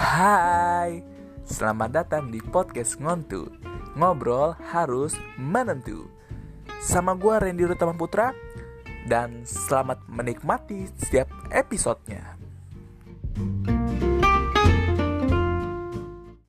Hai, selamat datang di podcast Ngontu. Ngobrol harus menentu. Sama gue Randy Rutama Putra. Dan selamat menikmati setiap episodenya.